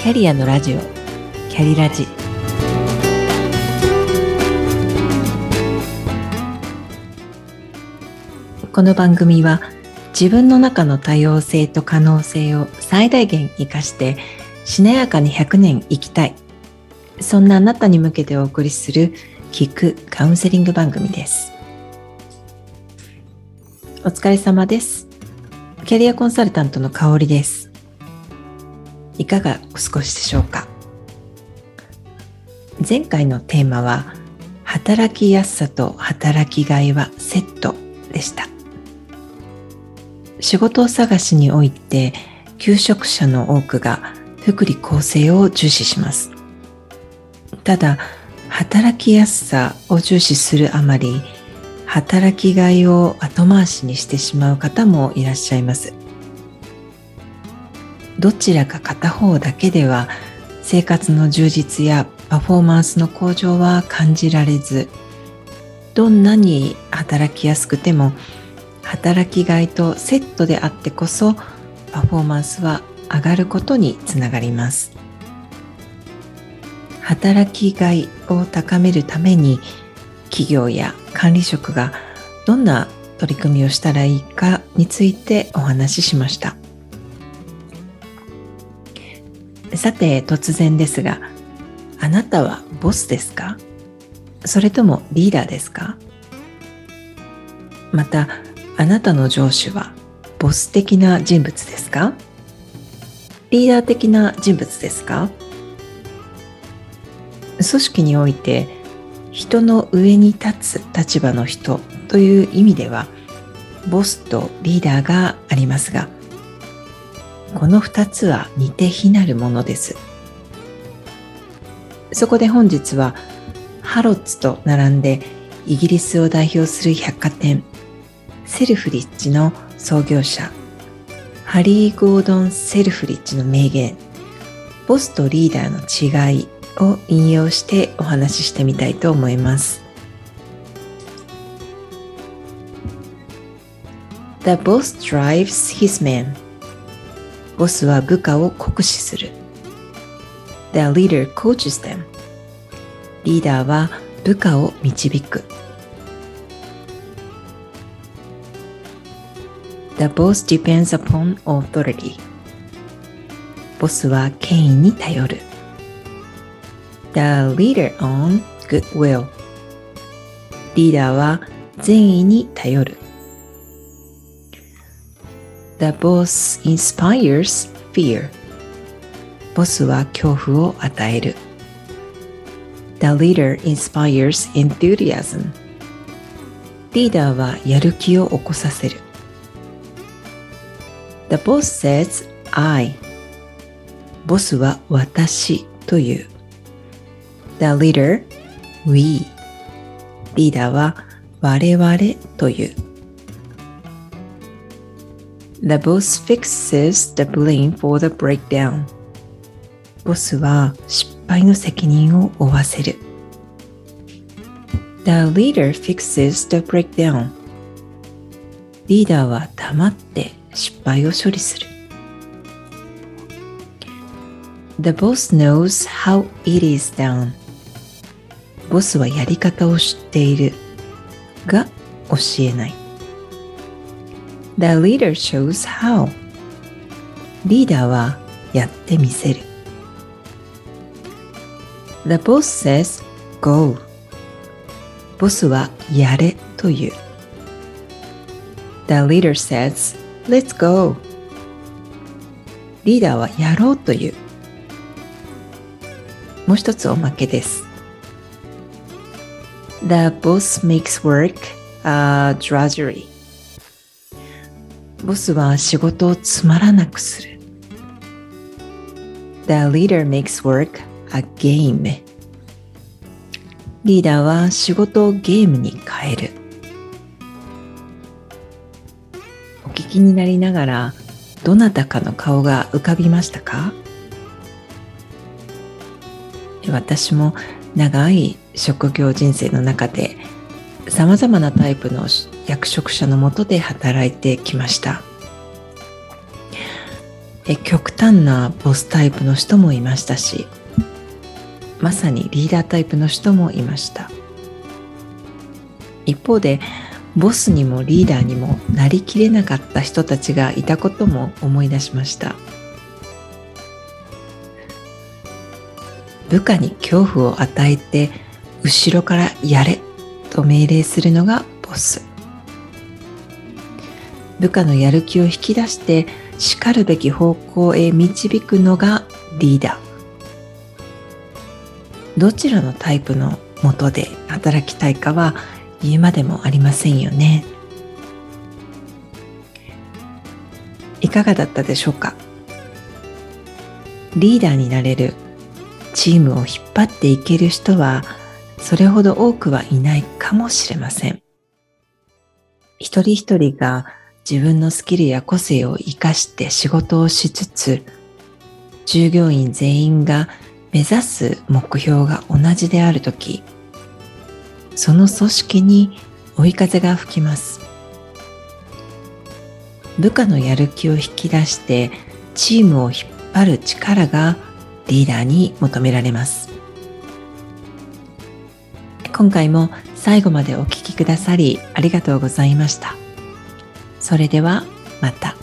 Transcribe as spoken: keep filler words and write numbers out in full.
キャリアのラジオ、キャリラジ。この番組は自分の中の多様性と可能性を最大限生かしてしなやかにひゃくねん生きたい、そんなあなたに向けてお送りする聞くカウンセリング番組です。お疲れ様です。キャリアコンサルタントの香里です。いかがお過ごしでしょうか。前回のテーマは働きやすさと働きがいはセットでした。仕事探しにおいて求職者の多くが福利厚生を重視します。ただ働きやすさを重視するあまり働きがいを後回しにしてしまう方もいらっしゃいます。どちらか片方だけでは生活の充実やパフォーマンスの向上は感じられず、どんなに働きやすくても働きがいとセットであってこそパフォーマンスは上がることにつながります。働きがいを高めるために企業や管理職がどんな取り組みをしたらいいかについてお話ししました。さて突然ですが、あなたはボスですか？それともリーダーですか？またあなたの上司はボス的な人物ですか？リーダー的な人物ですか？組織において人の上に立つ立場の人という意味ではボスとリーダーがありますが、この二つは似て非なるものです。そこで本日はハロッズと並んでイギリスを代表する百貨店セルフリッジの創業者ハリー・ゴードン・セルフリッジの名言、ボスとリーダーの違いを引用してお話ししてみたいと思います。 The boss drives his men。 ボスは部下を酷使する。 The leader coaches them。 リーダーは部下を導く。 The boss depends upon authority。 ボスは権威に頼る。The leader on goodwill。 リーダーは善意に頼る。The boss inspires fear。 ボスは恐怖を与える。The leader inspires enthusiasm。 リーダーはやる気を起こさせる。The boss says I。 ボスは私という。The leader we。 リーダーは我々という。The boss fixes the blame for the breakdown。 ボスは失敗の責任を負わせる。The leader fixes the breakdown。 リーダーは黙って失敗を処理する。The boss knows how it is done。 ボスはやり方を知っているが教えない。The leader shows how。 リーダーはやってみせる。The boss says go。 ボスはやれという。The leader says let's go。 リーダーはやろうという。もう一つおまけです。The boss makes work a drudgery。 ボスは仕事をつまらなくする。The leader makes work a game。 リーダーは仕事をゲームに変える。お聞きになりながらどなたかの顔が浮かびましたか？私も長い職業人生の中でさまざまなタイプの役職者の下で働いてきました。 え極端なボスタイプの人もいましたし、まさにリーダータイプの人もいました。一方でボスにもリーダーにもなりきれなかった人たちがいたことも思い出しました。部下に恐怖を与えて後ろからやれと命令するのがボス。部下のやる気を引き出してしかるべき方向へ導くのがリーダー。どちらのタイプの下で働きたいかは言うまでもありませんよね。いかがだったでしょうか。リーダーになれる、チームを引っ張っていける人はそれほど多くはいないかもしれません。一人一人が自分のスキルや個性を生かして仕事をしつつ、従業員全員が目指す目標が同じであるとき、その組織に追い風が吹きます。部下のやる気を引き出してチームを引っ張る力がリーダーに求められます。今回も最後までお聞きくださりありがとうございました。それではまた。